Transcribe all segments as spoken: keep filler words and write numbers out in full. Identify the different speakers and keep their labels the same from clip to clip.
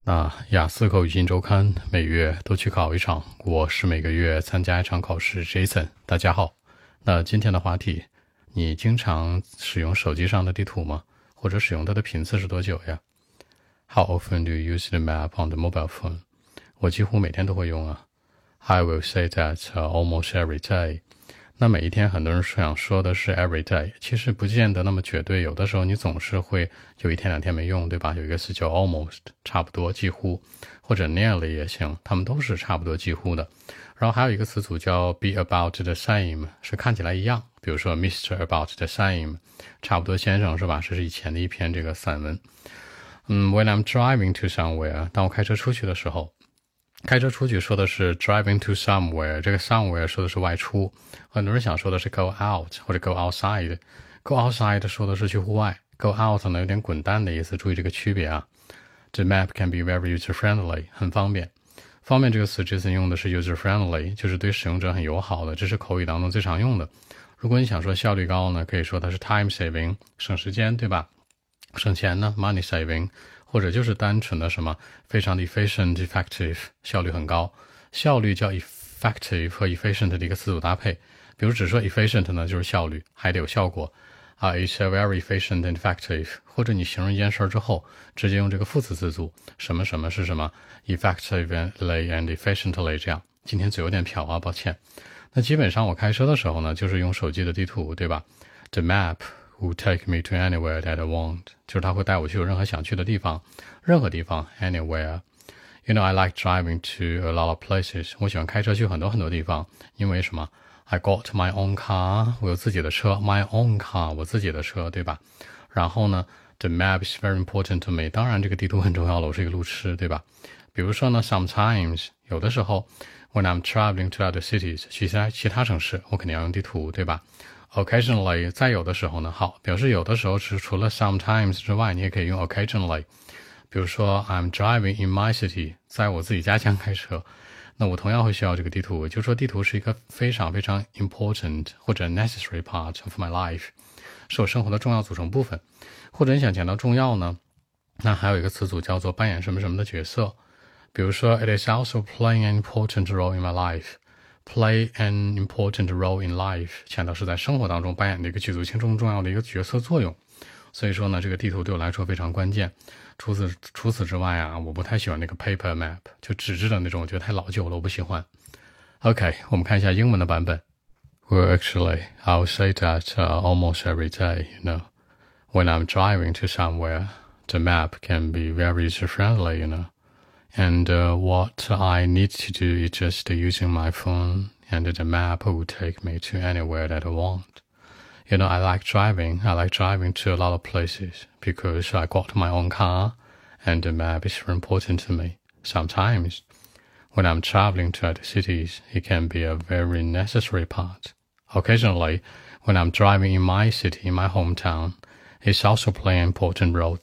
Speaker 1: 那雅思口语新周刊每月都去考一场，我是每个月参加一场考试 Jason。 大家好，那今天的话题，你经常使用手机上的地图吗？或者使用它的频次是多久呀？ How often do you use the map on the mobile phone? 我几乎每天都会用啊。 I will say that、uh, almost every day。 那每一天很多人想说的是 every day， 其实不见得那么绝对，有的时候你总是会有一天两天没用，对吧？有一个词叫 almost， 差不多几乎，或者 nearly 也行，它们都是差不多几乎的。然后还有一个词组叫 be about the same， 是看起来一样，比如说 Mister about the same， 差不多先生，是吧？这是以前的一篇这个散文。嗯 When I'm driving to somewhere， 当我开车出去的时候，开车出去说的是 driving to somewhere， 这个 somewhere 说的是外出，很多人想说的是 go out 或者 go outside。 go outside 说的是去户外， go out 呢有点滚蛋的意思，注意这个区别啊。The map can be very user-friendly， 很方便。方便这个词之前用的是 user-friendly， 就是对使用者很友好的，这是口语当中最常用的。如果你想说效率高呢，可以说它是 time saving， 省时间，对吧？省钱呢 money saving， 或者就是单纯的什么非常的 efficient effective， 效率很高。效率叫 effective 和 efficient 的一个词组搭配，比如只说 efficient 呢就是效率，还得有效果啊、uh, it's a very efficient and effective， 或者你形容一件事之后直接用这个副词词组，什么什么是什么 effectively and efficiently， 这样。今天嘴有点瓢啊，抱歉。那基本上我开车的时候呢就是用手机的地图，对吧？ The map will take me to anywhere that I want， 就是它会带我去有任何想去的地方，任何地方 anywhere。 You know I like driving to a lot of places， 我喜欢开车去很多很多地方，因为什么？ I got my own car， 我有自己的车， my own car， 我自己的车，对吧？然后呢 The map is very important to me， 当然这个地图很重要了，我是一个路痴，对吧？比如说呢 sometimes 有的时候 when I'm traveling to other cities， 去其他其他城市我肯定要用地图，对吧？ Occasionally 再有的时候呢，好，表示有的时候是除了 sometimes 之外，你也可以用 occasionally。 比如说 I'm driving in my city， 在我自己家乡开车，那我同样会需要这个地图，就是说地图是一个非常非常 important 或者 necessary part of my life， 是我生活的重要组成部分。或者你想讲到重要呢，那还有一个词组叫做扮演什么什么的角色，比如说 It is also playing an important role in my life。 Play an important role in life 强调是在生活当中扮演的一个举足轻重重要的一个角色作用。所以说呢，这个地图对我来说非常关键。除此除此之外啊，我不太喜欢那个 paper map， 就纸质的那种，我觉得太老旧了，我不喜欢。 OK， 我们看一下英文的版本。 Well, actually, I'll say that、uh, almost every day, you know, when I'm driving to somewhere, the map can be very user-friendly, you know. And uh, what I need to do is just using my phone, and the map will take me to anywhere that I want. You know, I like driving. I like driving to a lot of places because I got my own car, and the map is very important to me. Sometimes, when I'm traveling to other cities, it can be a very necessary part. Occasionally, when I'm driving in my city, in my hometown, it's also playing an important role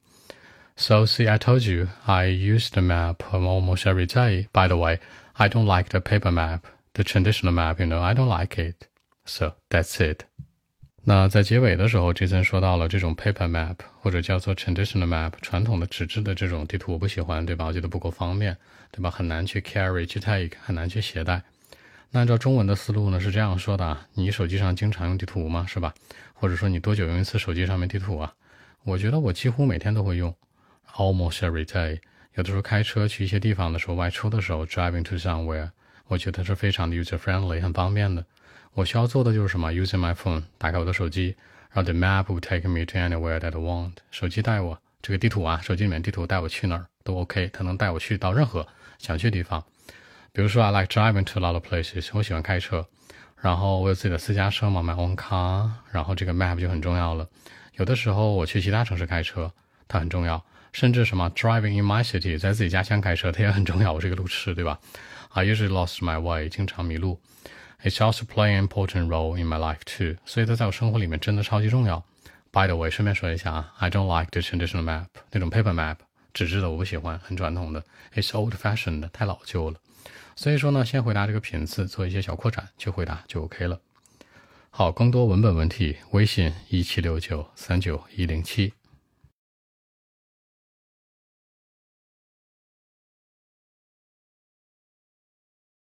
Speaker 1: too.So, see, I told you, I use the map almost every day. By the way, I don't like the paper map, the traditional map, you know, I don't like it. So, that's it. 那在结尾的时候 Jason 说到了这种 paper map 或者叫做 traditional map， 传统的纸质的这种地图我不喜欢，对吧？我觉得不够方便，对吧？很难去 carry 去 take， 很难去携带。那按照中文的思路呢是这样说的啊，你手机上经常用地图吗？是吧？或者说你多久用一次手机上面地图啊？我觉得我几乎每天都会用Almost every day， 有的时候开车去一些地方的时候，外出的时候 driving to somewhere， 我觉得是非常的 user-friendly， 很方便的。我需要做的就是什么 using my phone， 打开我的手机，然后 the map will take me to anywhere that I want， 手机带我，这个地图啊，手机里面地图带我去哪儿都 OK， 它能带我去到任何想去的地方。比如说 I like driving to a lot of places， 我喜欢开车，然后我有自己的私家车嘛 my own car， 然后这个 map 就很重要了。有的时候我去其他城市开车，它很重要。甚至什么 driving in my city， 在自己家乡开车它也很重要，我是一个路痴，对吧？ I usually lost my way， 经常迷路。 It's also playing an important role in my life too， 所以它在我生活里面真的超级重要。 By the way， 顺便说一下啊 I don't like the traditional map， 那种 paper map 纸质的我不喜欢，很传统的。 It's old fashioned， 太老旧了。所以说呢，先回答这个频次，做一些小扩展去回答就 OK 了。好，更多文本问题微信一七六九三九一零七。